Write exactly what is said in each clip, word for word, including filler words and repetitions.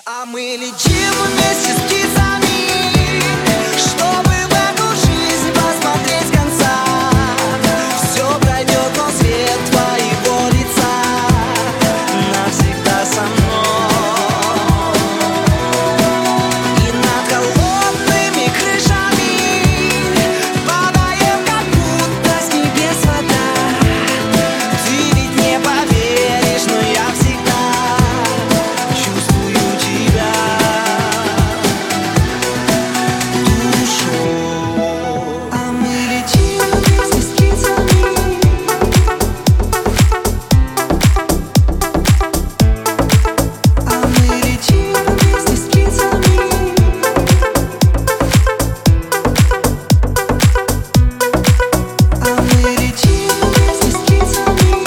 А мы летим вместе с птицами, чтобы в эту жизнь посмотреть с конца. Все пройдет, но свет твоего лица навсегда со мной. И над холодными крышами падаем, как будто с небес вода. Ты ведь не поверишь, но я всегда чувствую тебя душой. А мы летим вместе с птицами. А мы летим вместе с птицами. А мы летим вместе с птицами.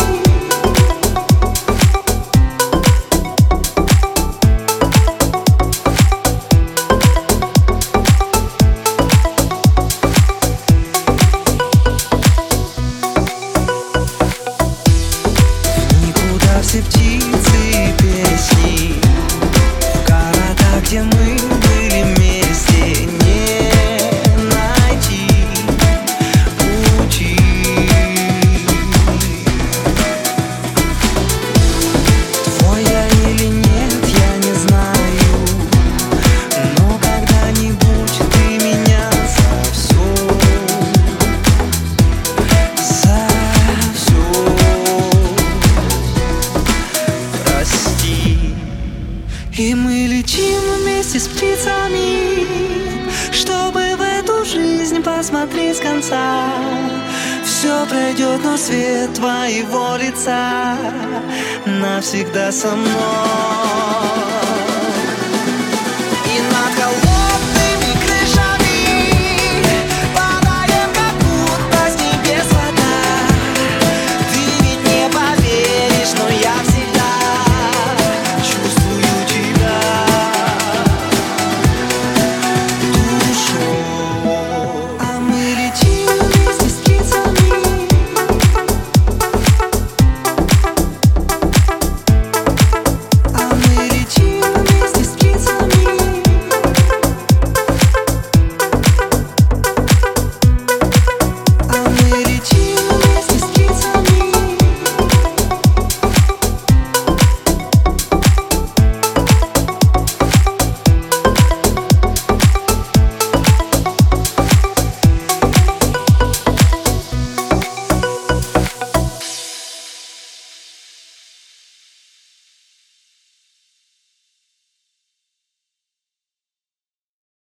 Никуда все птицы и песни, в города, где мы были вместе, не найти пути. Твой я или нет, я не знаю, но когда-нибудь ты меня за все, за все прости. И мы летим вместе с птицами, чтобы в эту жизнь посмотреть с конца. Все пройдет, но свет твоего лица навсегда со мной.